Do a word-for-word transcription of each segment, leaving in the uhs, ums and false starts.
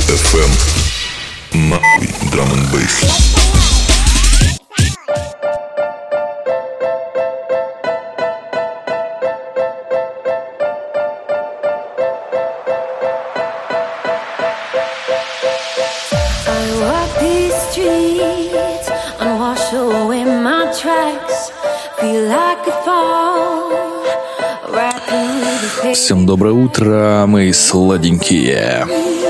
эф эм. Нахуй драм энд бейс. Всем доброе утро, мои сладенькие.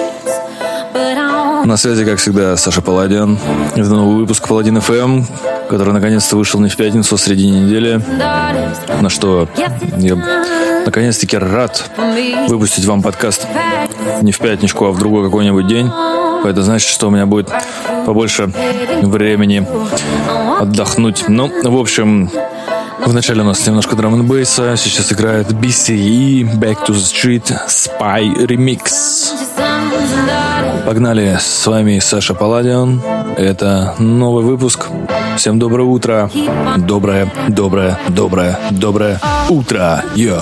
На связи, как всегда, Саша Паладин. Это новый выпуск Паладин эф эм, который наконец-то вышел не в пятницу, а в середине недели. На что я наконец-таки рад выпустить вам подкаст не в пятничку, а в другой какой-нибудь день. Это значит, что у меня будет побольше времени отдохнуть. Ну, в общем, вначале у нас немножко драм-н-бейса. Сейчас играет би си и Back to the Street Spy Remix. Погнали, с вами Саша Паладион. Это новый выпуск. Всем доброе утро. Доброе, доброе, доброе, доброе утро. Йо.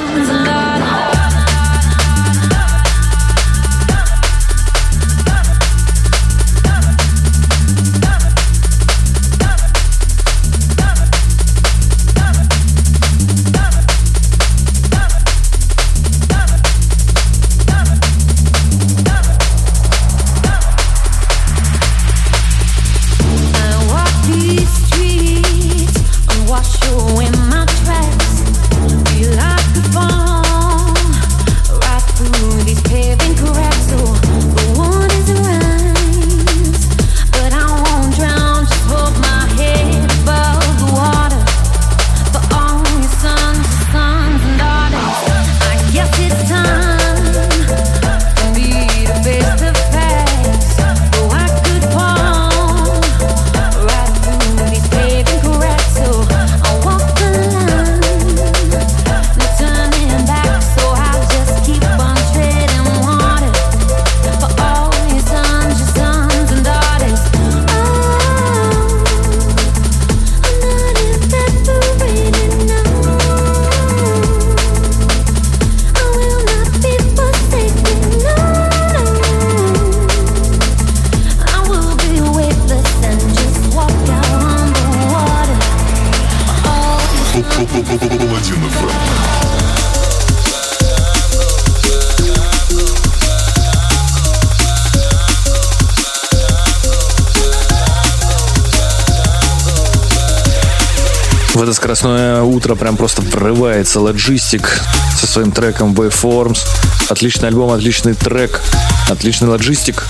В это скоростное утро прям просто врывается Logistic со своим треком Waveforms. Отличный альбом, отличный трек, отличный Logistic.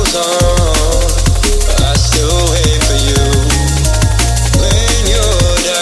Still wait for you when you're down.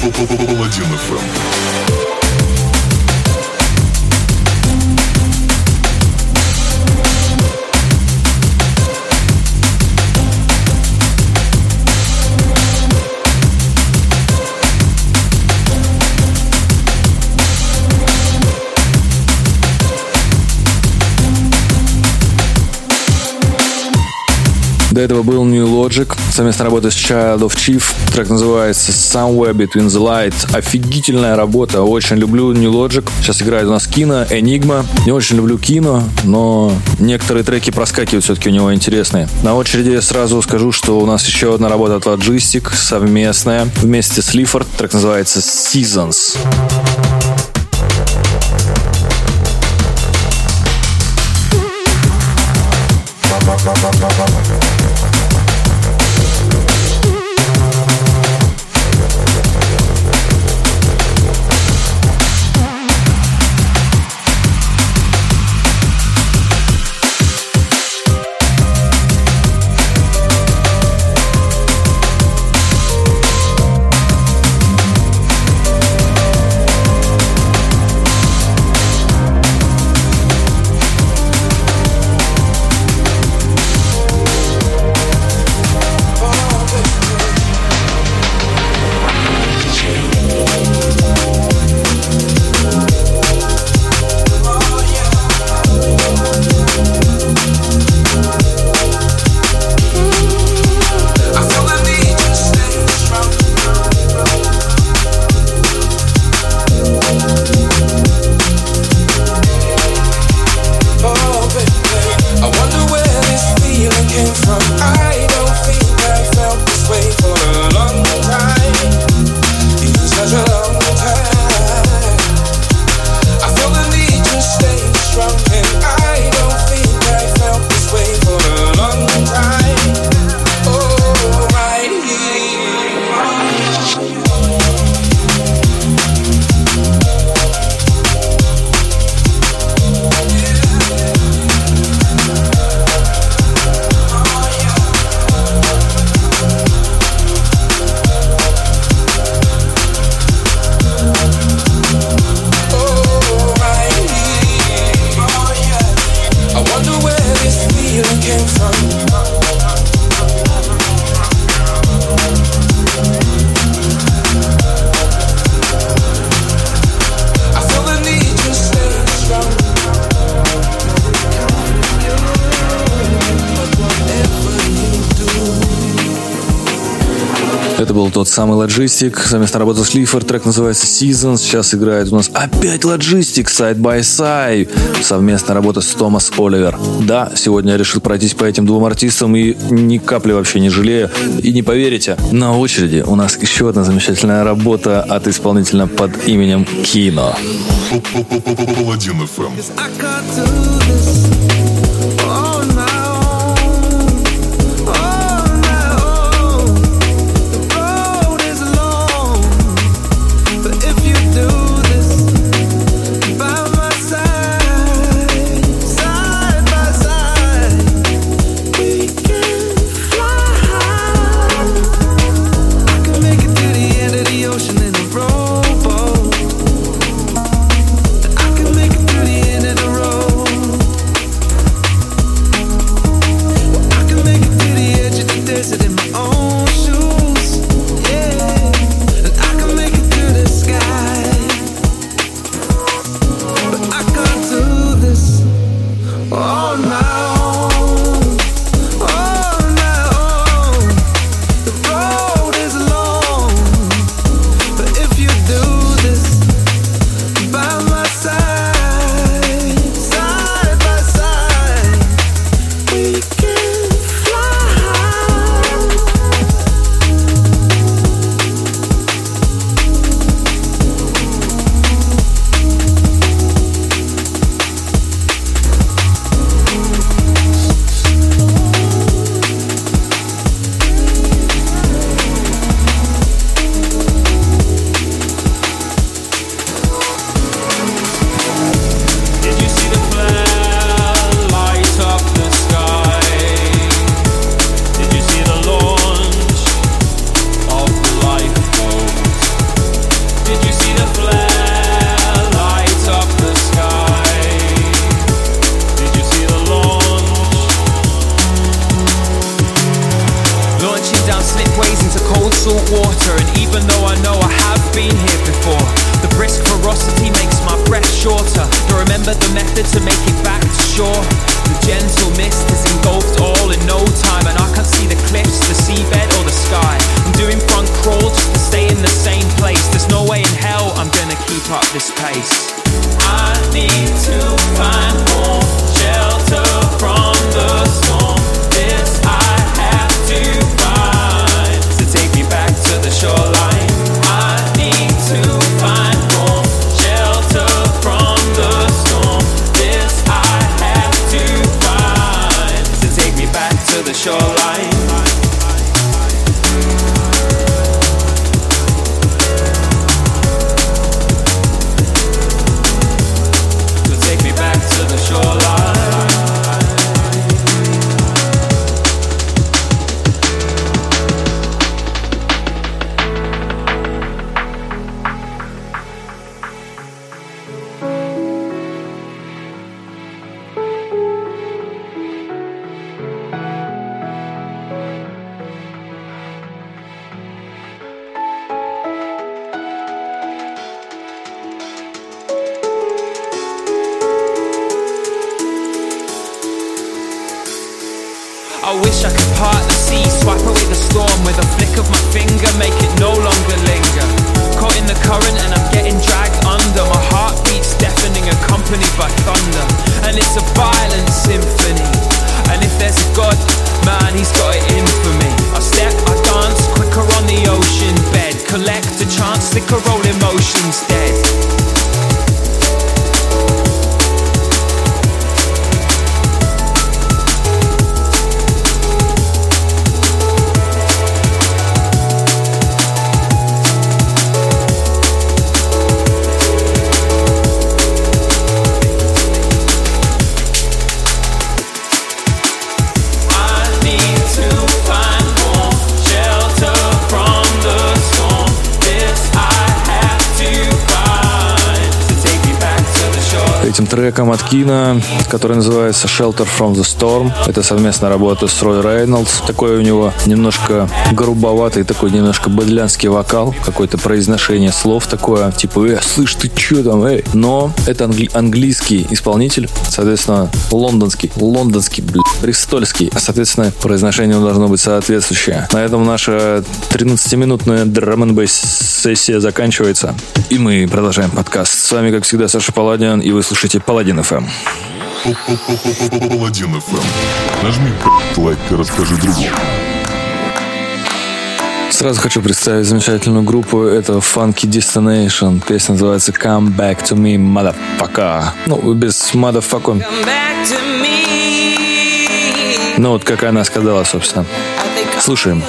Паладин эф эм. До этого был New Logic, совместная работа с Child of Chief. Трек называется Somewhere Between the Light. Офигительная работа, очень люблю New Logic. Сейчас играет у нас Кино, Enigma. Не очень люблю Кино, но некоторые треки проскакивают все-таки у него интересные. На очереди сразу скажу, что у нас еще одна работа от Logistic, совместная, вместе с Лифорд. Трек называется Seasons. Это был тот самый Logistic, совместно работал с Лифорд, трек называется Seasons. Сейчас играет у нас опять Logistic, Side by Side, совместная работа с Томас Оливер. Да, сегодня я решил пройтись по этим двум артистам и ни капли вообще не жалею. И не поверите, на очереди у нас еще одна замечательная работа от исполнителя под именем Кино. Паладин эф эм. I can make it through the end of the road. salt water, and even though I know I have been here before, the brisk ferocity makes my breath shorter. To remember the method to make it back to shore. The gentle mist has engulfed all in no time, and I can't see the cliffs, the seabed or the sky. I'm doing front crawl just to stay in the same place. There's no way in hell I'm gonna keep up this pace. I need to find more shelter from the storm. This I have to find to take me back to the shoreline. I need to find more shelter from the storm. This I have to find to take me back to the shoreline. I wish I could part the sea, swipe away the storm with a flick of my finger, make it no longer linger. Caught in the current and I'm getting dragged under. My heartbeat's deafening, accompanied by thunder, and it's a violent symphony. And if there's a God, man, he's got it in for me. I step, I dance, quicker on the ocean bed. Collect a chance, stick a roll, emotions dead. Этим треком от Кина, который называется Shelter from the Storm. Это совместная работа с Рой Рейнольдс. Такой у него немножко грубоватый, такой немножко быдлянский вокал, какое-то произношение слов такое, типа «Э, слышь, ты чё там, эй?» Но это англи- английский исполнитель, соответственно, лондонский, лондонский, блядь, бристольский. Соответственно, произношение должно быть соответствующее. На этом наша тринадцатиминутная драм-н-бейс сессия заканчивается. И мы продолжаем подкаст. С вами, как всегда, Саша Паладин, и вы слушаете Паладин эф эм. Паладин эф эм. Нажми лайк и расскажи другому. Сразу хочу представить замечательную группу. Это Funky Destination. Песня называется Come Back to Me, Motherfucker. Ну, без motherfucker. Ну, вот как она сказала, собственно. Слушаем.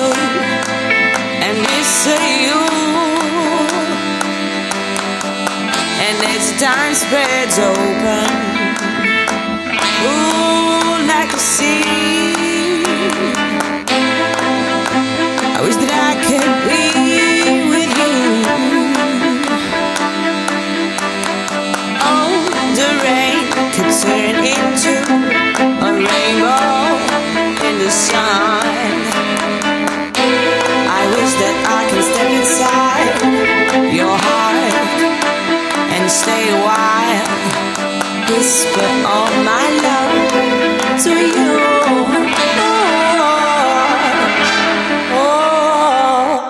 Time spreads open, ooh, like a sea. I wish that I could be with you. Oh, the rain could turn into a rainbow in the sun. I wish that I can step inside your heart and stay a while, whisper all my love to you. Oh, oh.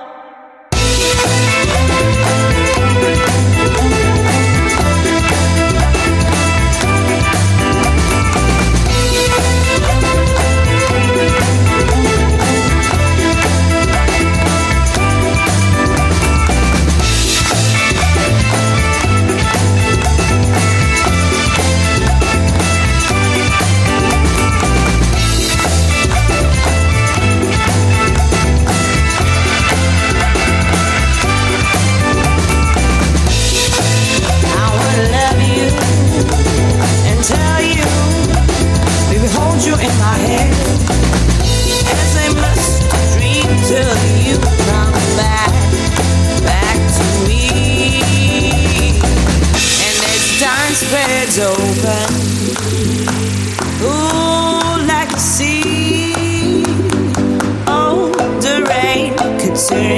Spreads open, ooh, like a sea. Oh, the rain could turn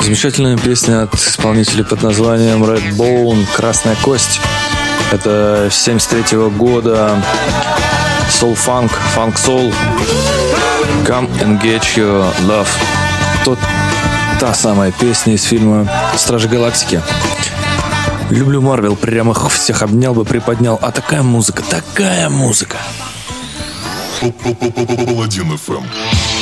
Замечательная песня от исполнителя под названием Redbone, «Красная кость». Это семьдесят третьего года Soul Funk, Funk Soul, Come and Get Your Love. Тот, та самая песня из фильма «Стражи Галактики». Люблю Марвел, прямо их всех обнял бы, приподнял. А такая музыка, такая музыка. Паладин эф эм.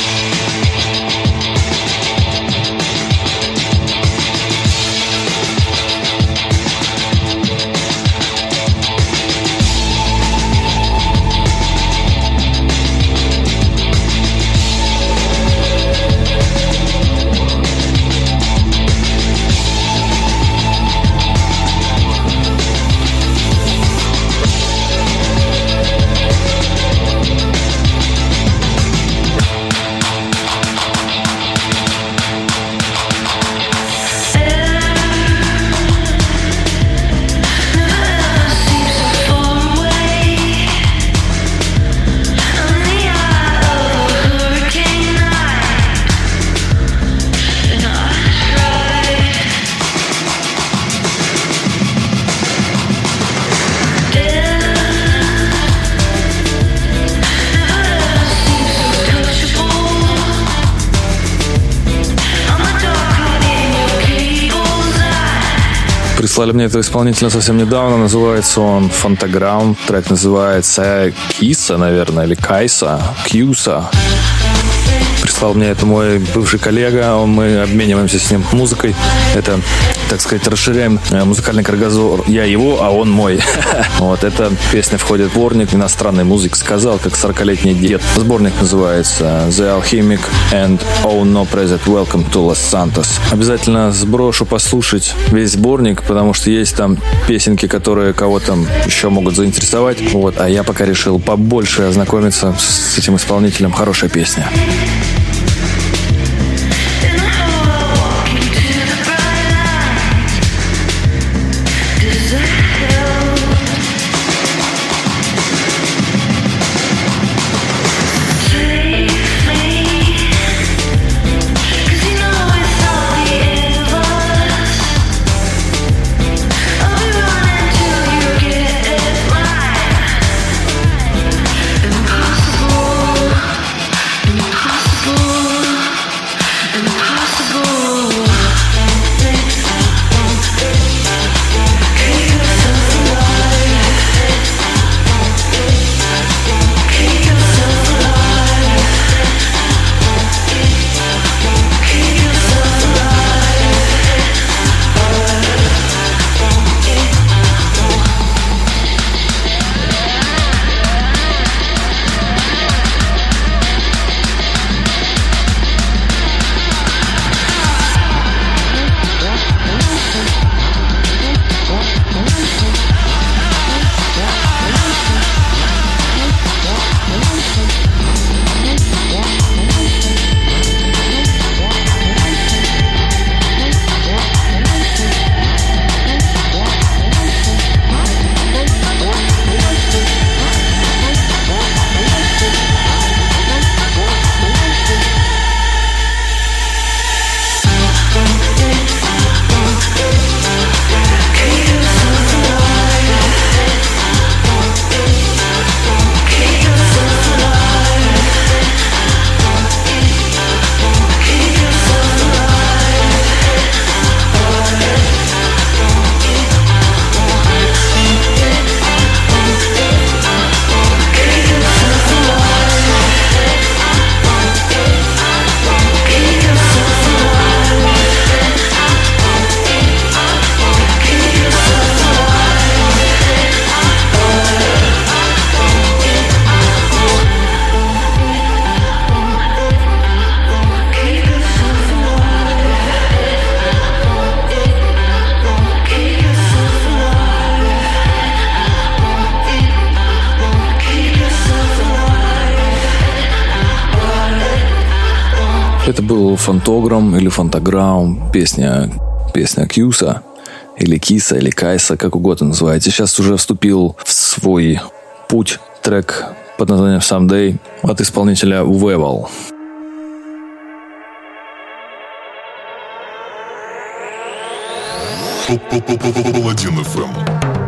Прислали мне этого исполнителя совсем недавно. Называется он Фантаграм. Трек называется Киса, наверное, или Кайса. Кьюса. Прислал мне это мой бывший коллега. Он, мы обмениваемся с ним музыкой. Это, так сказать, расширяем музыкальный кругозор. Я его, а он мой. Вот эта песня входит в сборник иностранной музыки. Сказал, как сорокалетний дед. Сборник называется The Alchemic and Oh No Present Welcome to Los Santos. Обязательно сброшу послушать весь сборник, потому что есть там песенки, которые кого-то еще могут заинтересовать. Вот, а я пока решил побольше ознакомиться с этим исполнителем. Хорошая песня. Это был Фантограм или Фантаграм, песня, песня Кьюса, или Киса, или Кайса, как угодно называете. Сейчас уже вступил в свой путь трек под названием Someday от исполнителя Weval. Паладин эф эм.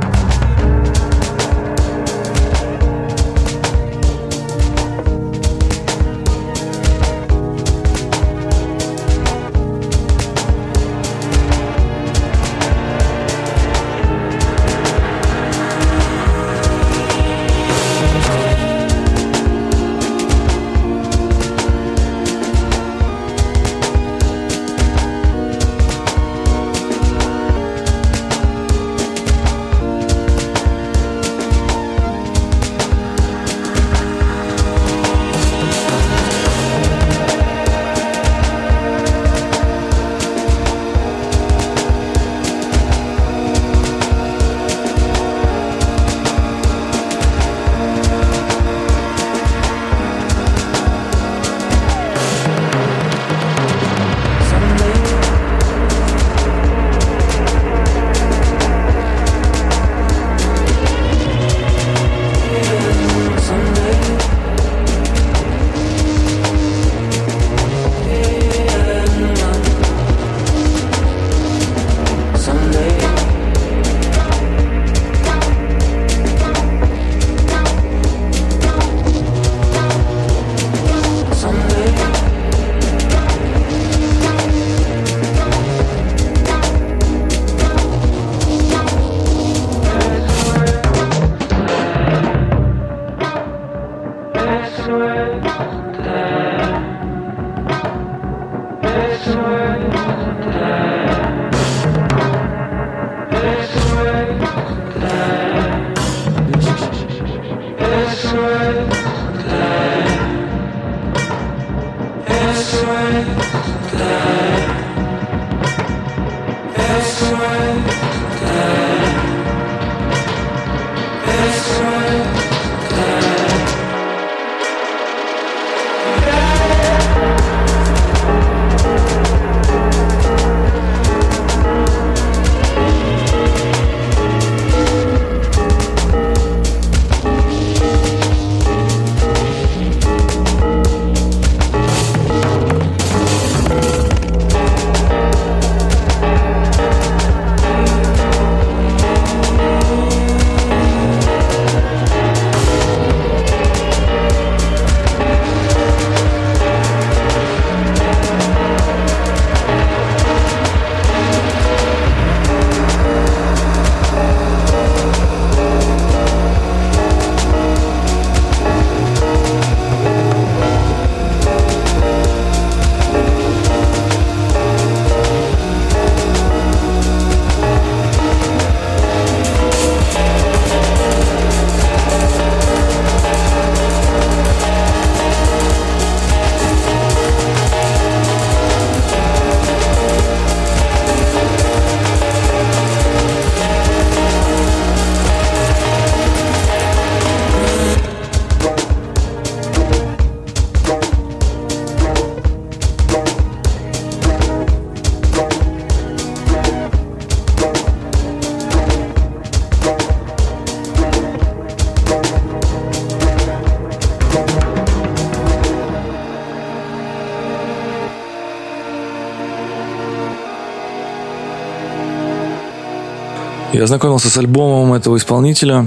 Я ознакомился с альбомом этого исполнителя.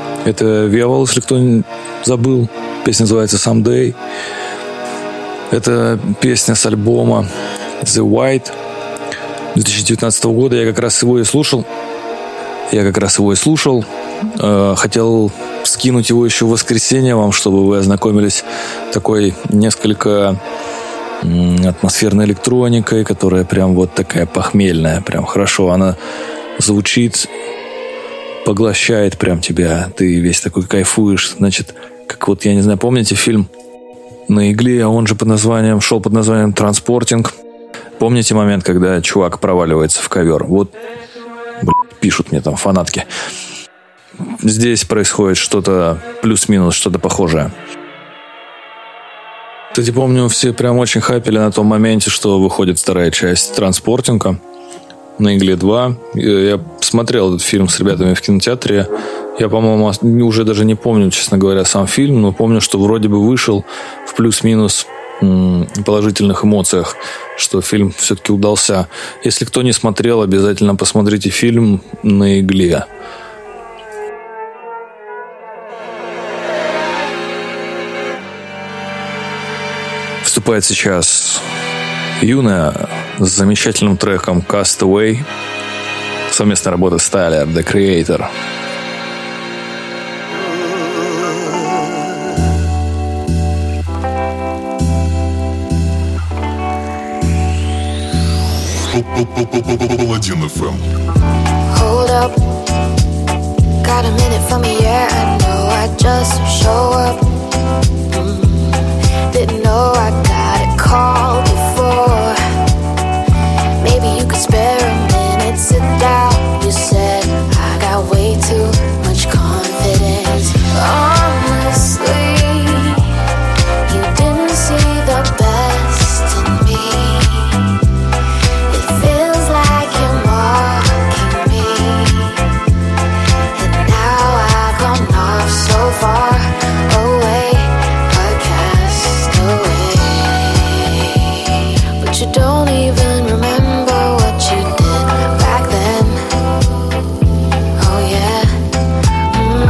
Это Виавол, если кто забыл. Песня называется «Someday». Это песня с альбома The White две тысячи девятнадцатого года. Я как раз его и слушал. Я как раз его и слушал. Хотел скинуть его еще в воскресенье вам, чтобы вы ознакомились такой несколько атмосферной электроникой, которая прям вот такая похмельная. Прям хорошо она звучит, поглощает прям тебя. Ты весь такой кайфуешь. Значит, как вот, я не знаю, помните фильм «На игле», а он же под названием, шел под названием «Транспортинг». Помните момент, когда чувак проваливается в ковер? Вот, блядь, пишут мне там фанатки. Здесь происходит что-то плюс-минус, что-то похожее. Кстати, помню, все прям очень хайпели на том моменте, что выходит вторая часть «Транспортинга» на игле два. Я смотрел этот фильм с ребятами в кинотеатре. Я, по-моему, уже даже не помню, честно говоря, сам фильм, но помню, что вроде бы вышел в плюс-минус м- положительных эмоциях, что фильм все-таки удался. Если кто не смотрел, обязательно посмотрите фильм «На игле». Вступает сейчас Юна с замечательным треком «Castaway». Совместная работа с Tyler, The Creator. Паладин эф эм. Hold up, got a minute for me, yeah, I know I just show up. Mm, didn't know I got a call before. Maybe you could spare a minute, sit down. You said I got way too much confidence. Honestly, you didn't see the best in me. It feels like you're mocking me. And now I've gone off so far away, a castaway. But you don't even remember what you did back then. Oh yeah. Mm.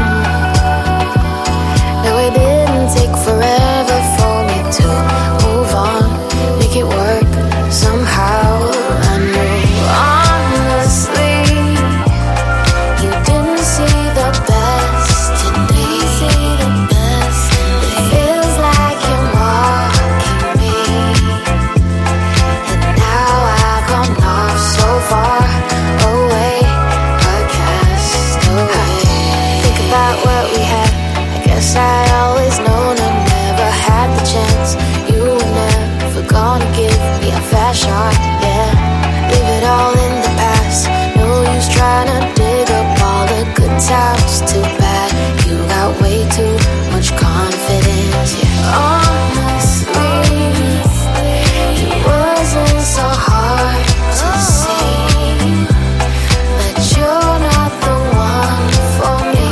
No, it didn't take forever for me to move on, make it work somehow. I knew honestly you didn't see the best in me. It feels like you're mocking me. And now I've gone off so far away, a castaway. Think about what we had. I guess I always known I never had the chance. You were never gonna give me a fast shot, yeah. Leave it all in the past. No use trying to dig up all the good times. Too bad you got way too much confidence, yeah. Honestly, it wasn't so hard to see that you're not the one for me.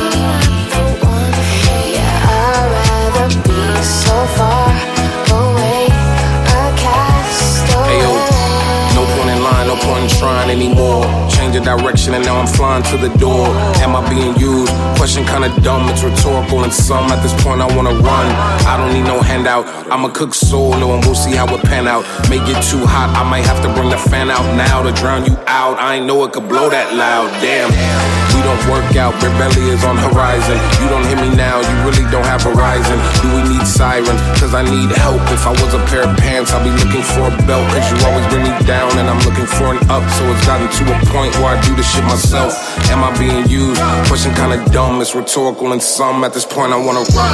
Yeah, I'd rather be so far away, a castaway. Ayo, no point in line, no point in trying anymore. Change of direction and now I'm flying to the door. Am I being used? Question kinda dumb, it's rhetorical and some. At this point I wanna run, I don't need no handout. I'ma cook solo and we'll see how it pan out. May get too hot, I might have to bring the fan out now to drown you out. I ain't know it could blow that loud, damn. We don't work out, rebellion is on horizon. You don't hear me now, you really don't have horizon. Do we need sirens? Cause I need help. If I was a pair of pants, I'll be looking for a belt. Cause you always bring me down and I'm looking for an up. So it's gotten to a point where I do this shit myself. Am I being used? Question kinda dumb, it's rhetorical and some. At this point I wanna run.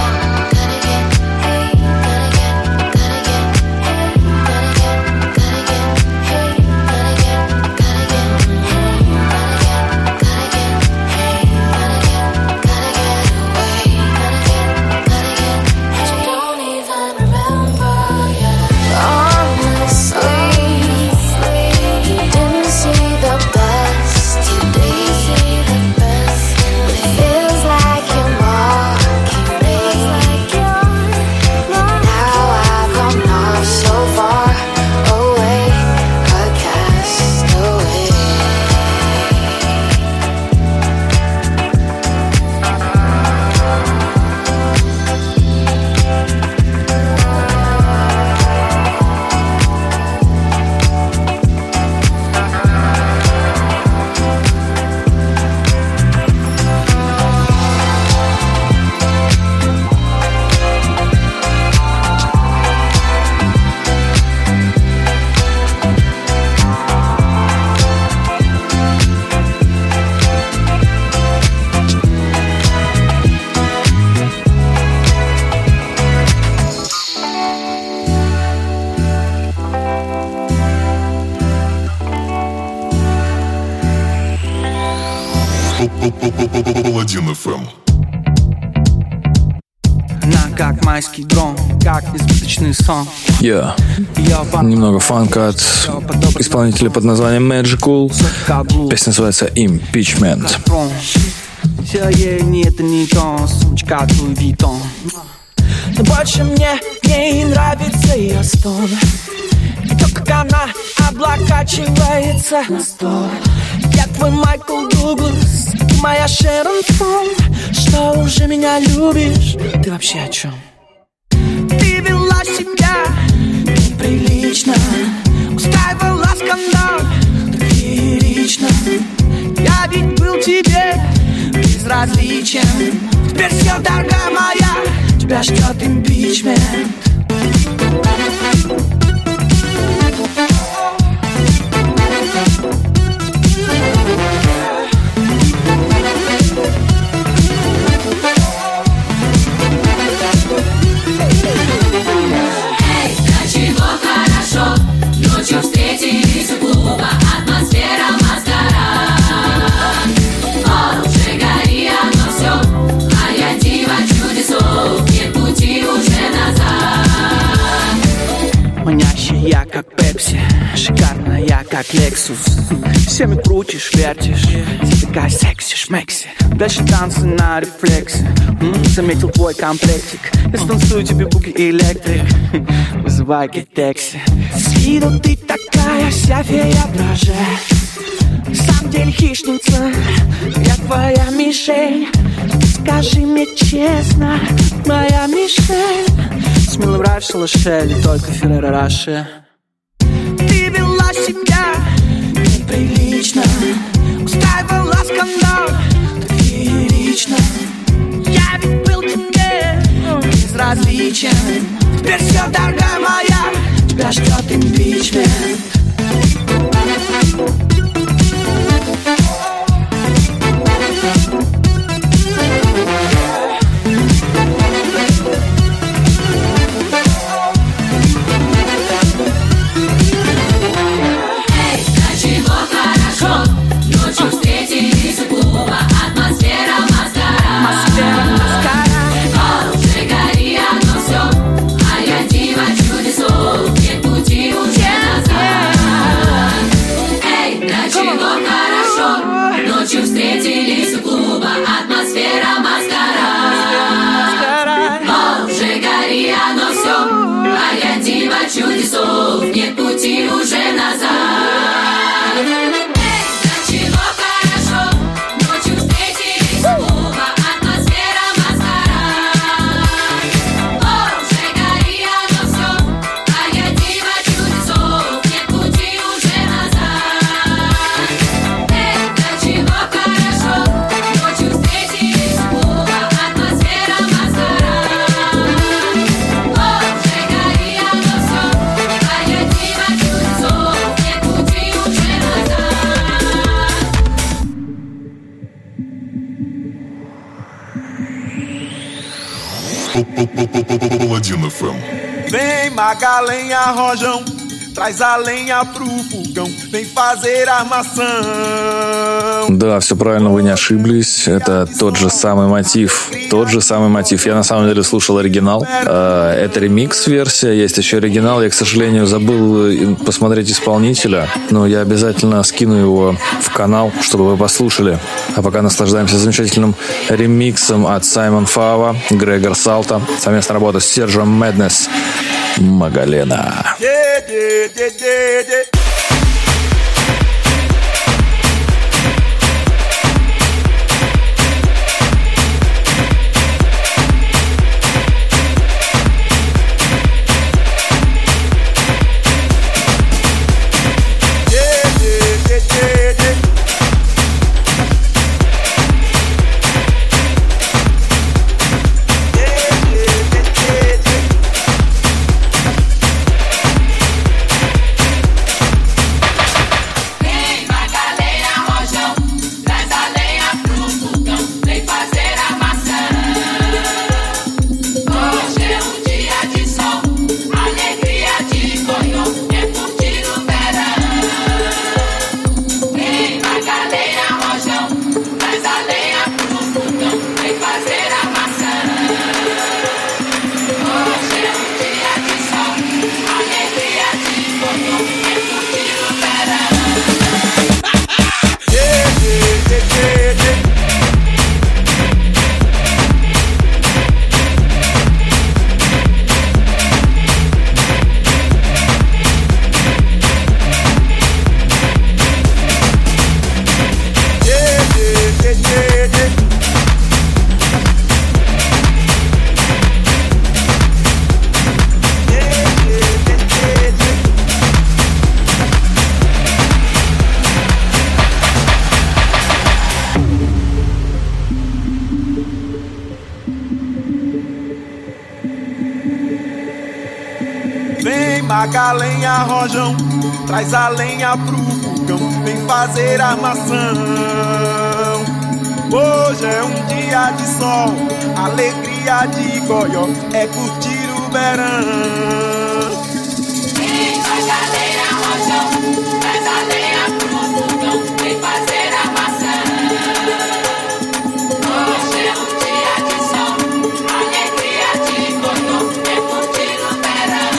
Паладин эф эм. Она как майский дрон, как избыточный сон. Я yeah. Немного фанка от исполнителя под названием Magical. Песня называется Impeachment. Все ей не это не то, сумочка Louis Vuitton. Но больше мне не нравится ее стон. И то, как она облокачивается на стол. Я твой Майкл Дуглас, моя Шерон Стоун. Что, уже меня любишь? Ты вообще о чем? Ты вела себя неприлично, устраивала скандал так феерично. Я ведь был тебе безразличен. Теперь все, дорогая моя, тебя ждет импичмент. Ночью встретились у клуба, атмосфера маскарад. О, уже гори оно все, а я дива чудесов, нет пути уже назад. Манящая, как Пепси, шикарная, как Лексус. Всеми крутишь, вертишь, ты такая секси-шмекси. Дальше танцы на рефлексе. М-м, заметил твой комплектик. Я станцую тебе буги электрик. Вызывай гетекси. С виду ты такая вся фея дрожжа. На самом деле хищница, я твоя мишень. Скажи мне честно, моя мишень. Смело нравишься Лошель, и только Ферреро Роше. Ты вела себя неприлично, устраивала скандал так феерично. Я ведь был тебе безразличен. Теперь все, дорогая моя, тебя ждет импичмент. Чудесов, нет пути уже назад. Paladino эф эм. Vem Magalenha Rojão, traz a lenha pro fogão, vem fazer armação. Да, все правильно, вы не ошиблись. Это тот же самый мотив. Тот же самый мотив. Я на самом деле слушал оригинал. Это ремикс-версия, есть еще оригинал. Я, к сожалению, забыл посмотреть исполнителя, но я обязательно скину его в канал, чтобы вы послушали. А пока наслаждаемся замечательным ремиксом от Саймон Фава, Грегор Салта. Совместная работа с Сержем Мэднес. Магалена. Yeah, yeah, yeah, yeah, yeah. Vem Macalenha, rojão, traz a lenha pro fogão, vem fazer armação. Hoje é um dia de sol, alegria de goió, é curtir o verão. Vem Macalenha, rojão, traz a lenha pro fogão, vem fazer armação. Hoje é um dia de sol, alegria de goió, é curtir o verão.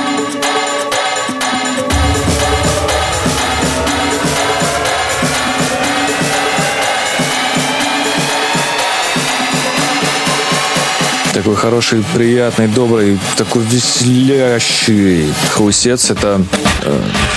Такой хороший, приятный, добрый, такой веселящий хаусец. Это, э,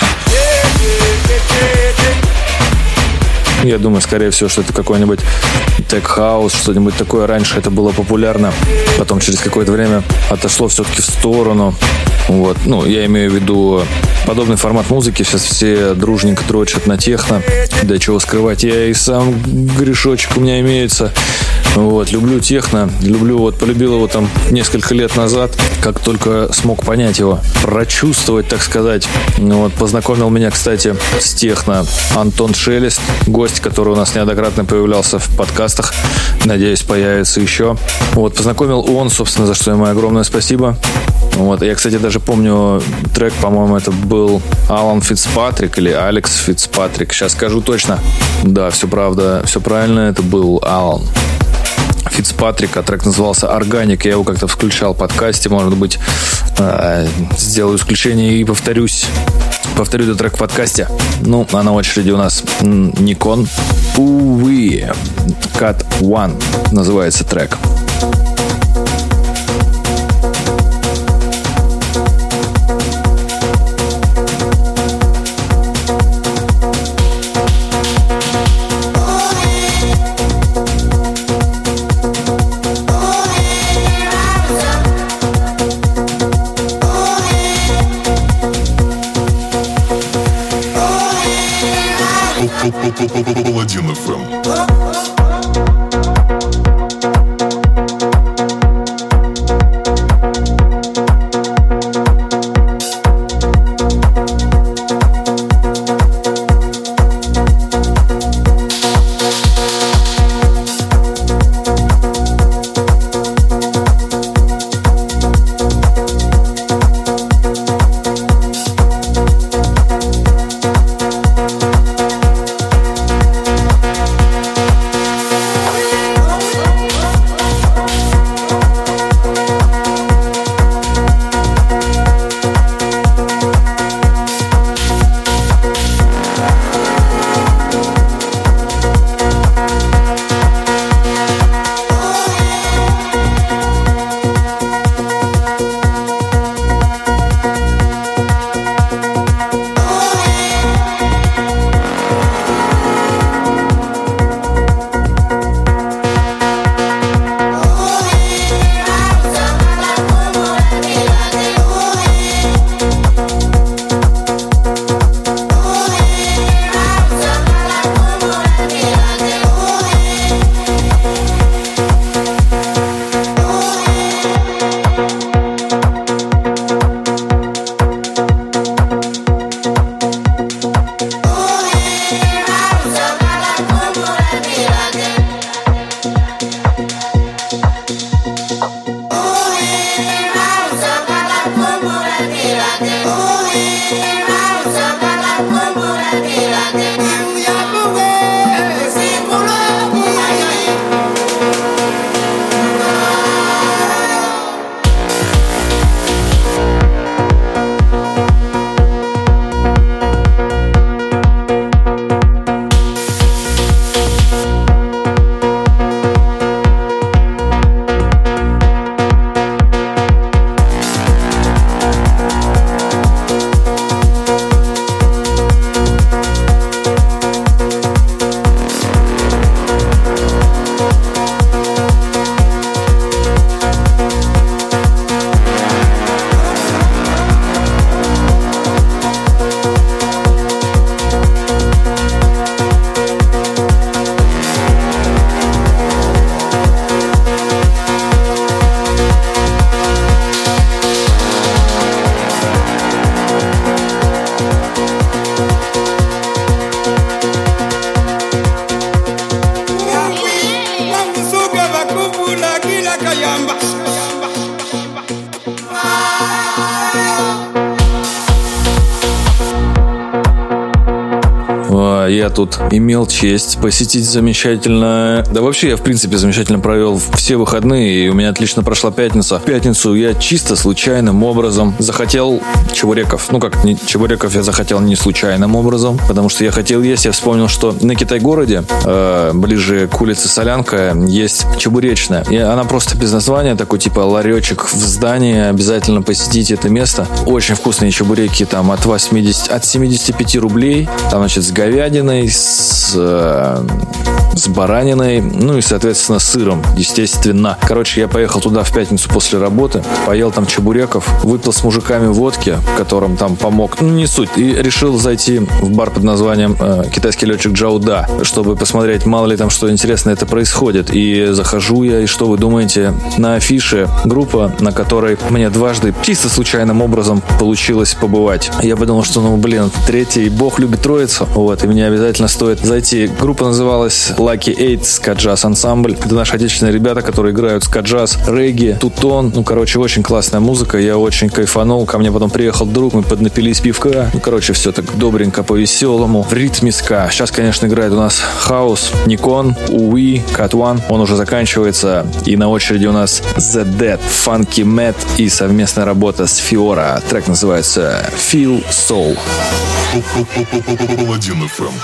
я думаю, скорее всего, что это какой-нибудь тег-хаус, что-нибудь такое. Раньше это было популярно, потом через какое-то время отошло все-таки в сторону. Вот. Ну, я имею в виду подобный формат музыки. Сейчас все дружненько дрочат на техно. Да чего скрывать, я и сам грешочек у меня имеется. Вот, люблю техно, люблю, вот, полюбил его там несколько лет назад, как только смог понять его, прочувствовать, так сказать. Вот, познакомил меня, кстати, с техно Антон Шелест, гость, который у нас неоднократно появлялся в подкастах, надеюсь, появится еще. Вот, познакомил он, собственно, за что ему огромное спасибо. Вот, я, кстати, даже помню трек, по-моему, это был Алан Фицпатрик или Алекс Фицпатрик, сейчас скажу точно. Да, все правда, все правильно, это был Алан Фицпатрик, а трек назывался «Органик». Я его как-то включал в подкасте, может быть, э, сделаю исключение и повторюсь. Повторю этот трек в подкасте. Ну, а на очереди у нас Nikon Увы Cut One называется трек. Паладин эф эм. We'll be right back. я тут имел честь посетить замечательно... Да вообще я, в принципе, замечательно провел все выходные, и у меня отлично прошла пятница. В пятницу я чисто случайным образом захотел чебуреков. Ну как, не, чебуреков я захотел не случайным образом, потому что я хотел есть. Я вспомнил, что на Китай-городе, э, ближе к улице Солянка, есть чебуречная. И она просто без названия, такой типа ларечек в здании. Обязательно посетите это место. Очень вкусные чебуреки, там от восьмидесяти, от семидесяти пяти рублей. Там, значит, с говядиной, с, э, с бараниной, ну и, соответственно, с сыром, естественно. Короче, я поехал туда в пятницу после работы, поел там чебуреков, выпил с мужиками водки, которым там помог, ну не суть, и решил зайти в бар под названием э, «Китайский летчик Джауда», чтобы посмотреть, мало ли там что интересное это происходит. И захожу я, и что вы думаете? На афише группа, на которой мне дважды чисто случайным образом получилось побывать. Я подумал, что, ну, блин, третий бог любит троицу, вот, и мне обязательно стоит зайти. Группа называлась Lucky Eight Ска-джаз ансамбль. Это наши отечественные ребята, которые играют ска-джаз, регги, тутон. Ну, короче, очень классная музыка. Я очень кайфанул. Ко мне потом приехал друг, мы поднапились пивка. Ну, короче, все так добренько, по-веселому. В ритме ска. Сейчас, конечно, играет у нас хаус, Никон, Уи, Cat One. Он уже заканчивается. И на очереди у нас The Dead, Funky Matt и совместная работа с Фиора. Трек называется Feel Soul. Паладин эф эм.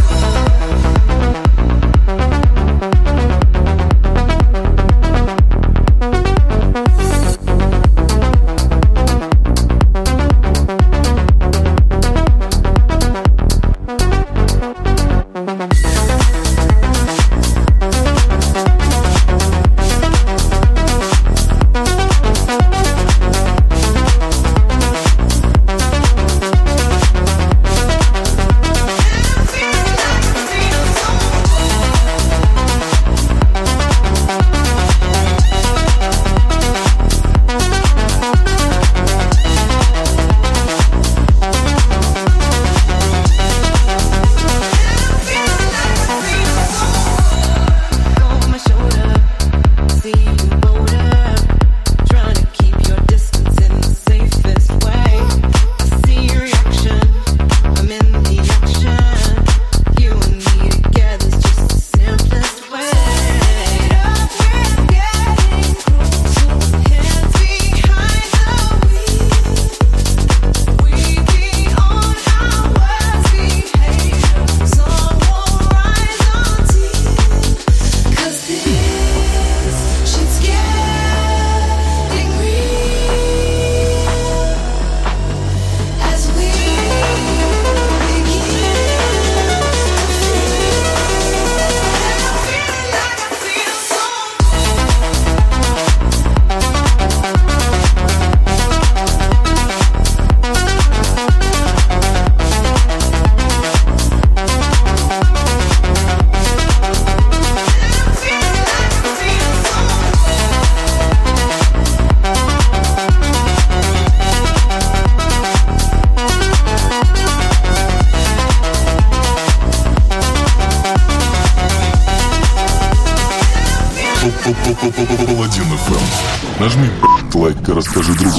Паладин эф эм. Нажми лайк и расскажи другу.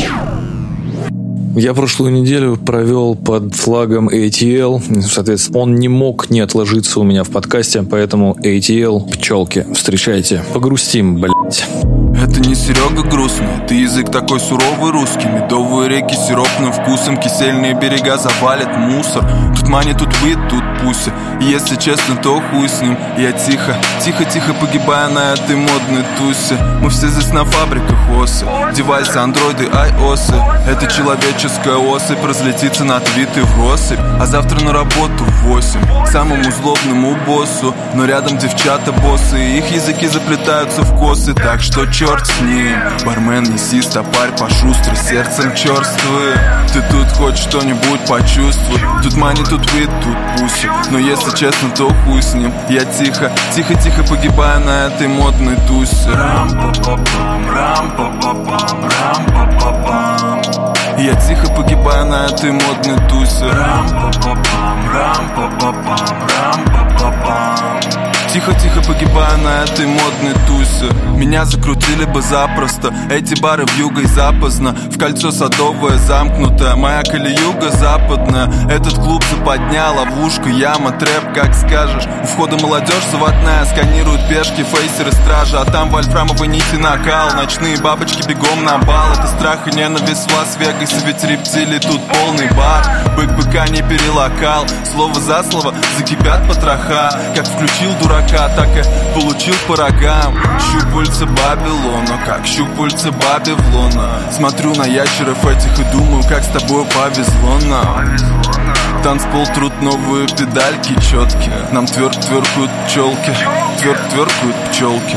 Я прошлую неделю провел под флагом эй ти эл. Соответственно, он не мог не отложиться у меня в подкасте, поэтому эй ти эл, пчелки, встречайте. Погрустим, блять. Это не Серега грустный, ты язык такой суровый русский. Медовые реки с сиропным вкусом, кисельные берега завалят мусор. Тут мани, тут быт, тут пуся. И если честно, то хуй с ним. Я тихо, тихо-тихо погибаю на этой модной тусе. Мы все здесь на фабриках осы. Девайсы, андроиды, айосы. Это человеческая особь разлетится на твиты в россыпь. А завтра на работу в восемь к самому злобному боссу. Но рядом девчата боссы, их языки заплетаются в косы. Так что черт с ним, бармен, неси стопарь пошустрый, сердцем черствый. Ты тут хоть что-нибудь почувствуй. Тут мани, тут вид, тут пуси. Но если честно, то хуй с ним. Я тихо, тихо-тихо погибаю на этой модной тусе. Рам-па-па-пам, рам-па-па-пам, рам-па-па-пам. Я тихо погибаю на этой модной тусе. Рам-па-па-пам, рам-па-па-пам, рам-па-па-пам. Тихо-тихо погибая на этой модной тусе. Меня закрутили бы запросто. Эти бары вьюга и запоздно. В кольцо садовое замкнутое. Моя колеюга западная. Этот клуб западня, ловушка, яма, трэп, как скажешь. У входа молодежь заводная. Сканируют пешки, фейсеры, стражи. А там вольфрамовые нити накал. Ночные бабочки бегом на бал. Это страх и ненависть в Лас-Вегасе. Ведь рептилий тут полный бар. Бык быка не перелокал. Слово за слово закипят потроха. Как включил дурака, так и получил по рогам. Щупальца Бабилона, как щупальца Бабилона. Смотрю на ящеров этих и думаю, как с тобой повезло нам. Танцпол трут новые педальки четкие. Нам тверк тверкают пчелки. Тверк тверкают пчелки.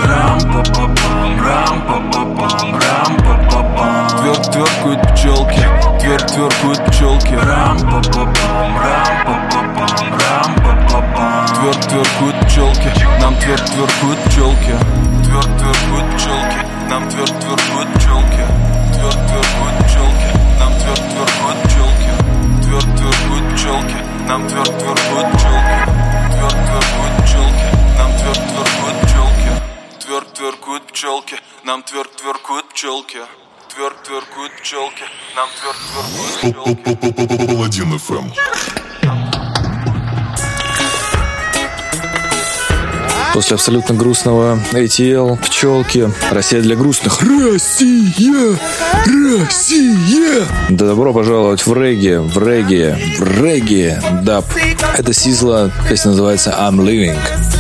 Тверк тверкают пчелки. Тверк тверкают пчелки. Тверк тверкают пчелки. Нам тверк тверкают пчелки. Тверк тверкают пчелки. Нам тверк тверкают пчелки. Тверк тверкают пчелки. Нам тверк тверкают пчелки. Тверк тверкают пчелки. Нам тверк тверкают пчелки. Тверк тверкают пчелки. Нам тверк тверкают пчелки. Тверк тверкают пчелки. Нам тверк тверкают пчелки. Тверк тверкают пчелки. Нам тверк тверкают пчелки. Паладин эф эм. После абсолютно грустного эй ти эл, пчелки, Россия для грустных. Россия! Россия! Да добро пожаловать в регги, в регги, в регги, даб. Это Сизла, песня называется I'm Living.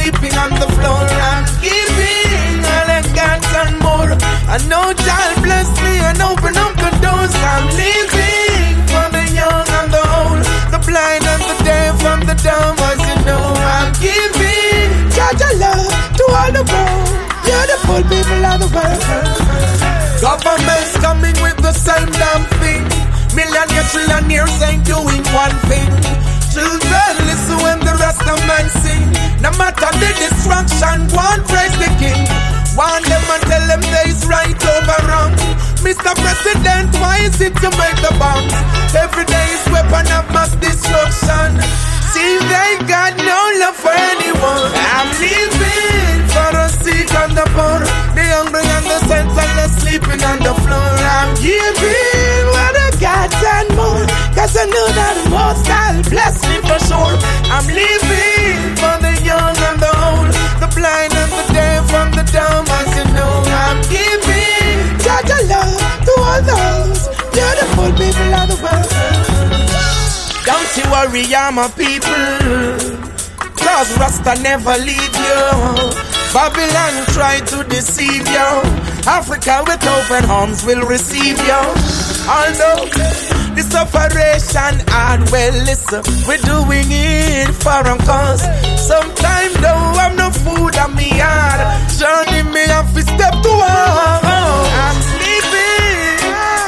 The world, beautiful people of the world. Governments coming with the same damn thing. Millionaires, trillionaires ain't doing one thing. Children listen when the rest of men sing. No matter the destruction, one praise the king. One them and tell them there is right over wrong. Mister President, why is it you make the bombs? Every day is weapon of mass destruction. See, they got no love for anyone. I'm living for the sick and the poor, the hungry and the senseless sleeping on the floor. I'm giving what I got and more, cause I know that the most I'll bless me for sure. I'm living for the young and the old, the blind and the deaf and the dumb, as you know. I'm giving such a love to all those beautiful people of the world. Don't you worry, I'm a people, cause Rasta never leave you. Babylon try to deceive you. Africa with open arms will receive you. Although this operation hard, well listen, we're doing it for a cause. Sometimes though I'm no food on me yard, journey me have to step to one. I'm living,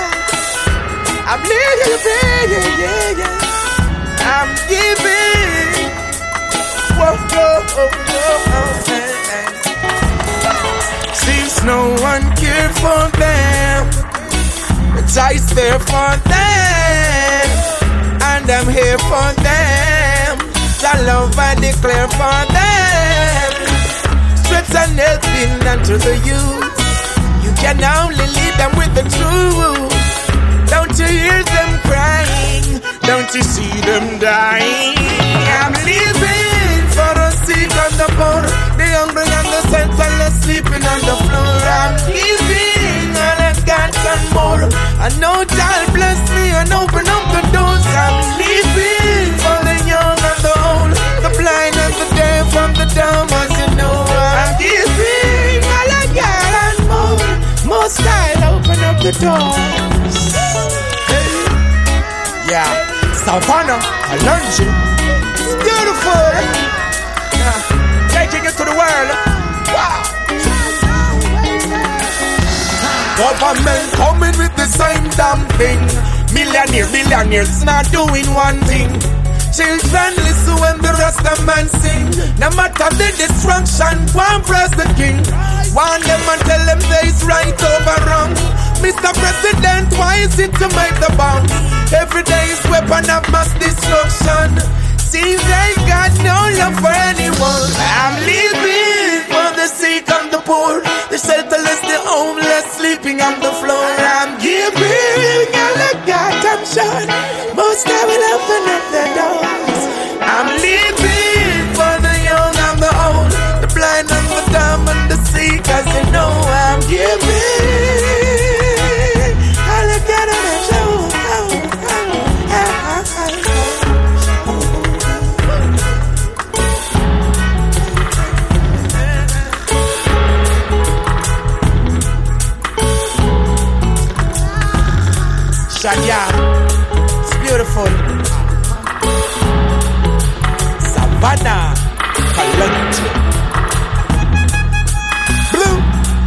I'm living, yeah, yeah, yeah. I'm giving. Whoa, whoa, whoa, whoa, hey, hey. Seems no one cared for them, but I's there for them, and I'm here for them. The love I declare for them. Strength and helping unto the youth. You can only lead them with the truth. Don't you hear them crying? Don't you see them dying? I'm living for the sick and the poor, the hungry and the senseless sleeping on the floor. I'm giving all I got and more. I know God bless me and open up the doors. I'm living for the young and the old, the blind and the deaf and the dumb, as you know. I'm giving all I got and more. Most I'll open up the doors. Yeah. Savannah, Alonji, it's beautiful. Yeah. Taking it to the world. Wow. Government coming with the same damn thing. Millionaire, millionaires not doing one thing. Children listen when the rest of men sing. No matter the destruction, one praise the king. One them and tell them there is right over wrong. Mister President, why is it to make the bombs? Every day is weapon of mass destruction. seems they've got no love for anyone. I'm living for the sake of the poor, the shelterless, the homeless, sleeping on the floor. I'm giving all I got, I'm sure most I will open up the doors. I'm living for the young and the old, the blind and the dumb and the sick, 'cause you know I'm giving all I got, I'm sure. Shania, it's beautiful. Savannah, Kalonji, Blue.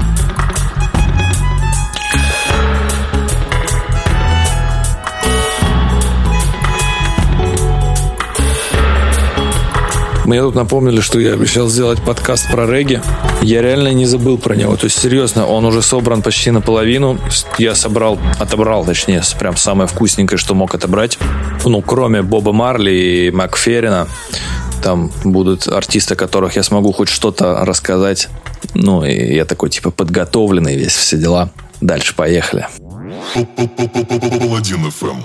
Мне тут напомнили, что я обещал сделать подкаст про регги. Я реально не забыл про него. То есть, серьезно, он уже собран почти наполовину. Я собрал, отобрал, точнее, прям самое вкусненькое, что мог отобрать. Ну, кроме Боба Марли и Макферрина. Там будут артисты, о которых я смогу хоть что-то рассказать. Ну, и я такой, типа, подготовленный весь, все дела. Дальше поехали. Паладин эф эм.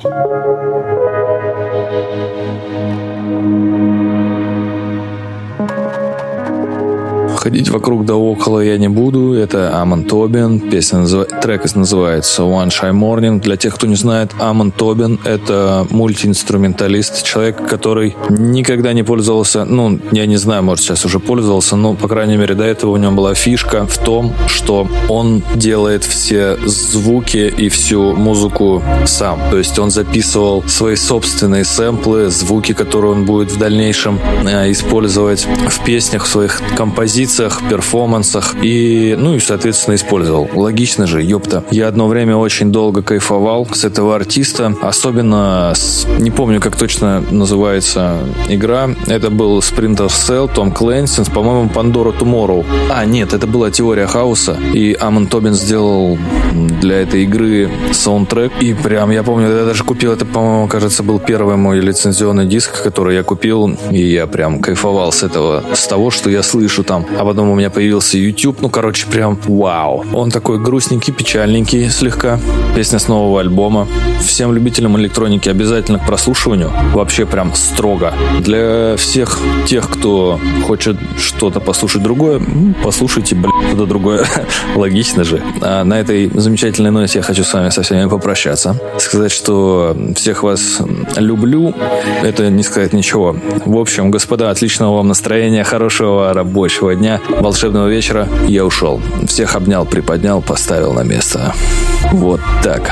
Ходить вокруг да около я не буду. Это Амон Тобин. Песня назыв... Трек называется One Shy Morning. Для тех, кто не знает, Амон Тобин — это мультиинструменталист. Человек, который никогда не пользовался, ну, я не знаю, может, сейчас уже пользовался, но, по крайней мере, до этого у него была фишка в том, что он делает все звуки и всю музыку сам. То есть он записывал свои собственные сэмплы, звуки, которые он будет в дальнейшем э, использовать в песнях, в своих композициях, перформансах и, ну и, соответственно, использовал. Логично же, ёпта. Я одно время очень долго кайфовал с этого артиста, особенно с, не помню, как точно называется игра. Это был Splinter Cell, Том Клэнси, по-моему, Pandora Tomorrow. А, нет, это была Теория хаоса, и Амон Тобин сделал для этой игры саундтрек, и прям, я помню, я даже купил, это, по-моему, кажется, был первый мой лицензионный диск, который я купил, и я прям кайфовал с этого, с того, что я слышу там. А потом у меня появился YouTube, ну, короче, прям вау. Он такой грустненький, печальненький слегка. Песня с нового альбома. Всем любителям электроники обязательно к прослушиванию. Вообще прям строго. Для всех тех, кто хочет что-то послушать другое, послушайте, блядь, что-то другое. Логично же. А на этой замечательной ноте я хочу с вами со всеми попрощаться. Сказать, что всех вас люблю, это не сказать ничего. В общем, господа, отличного вам настроения, хорошего рабочего дня, волшебного вечера. Я ушел. Всех обнял, приподнял, поставил на место. Вот так.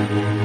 We'll be right back.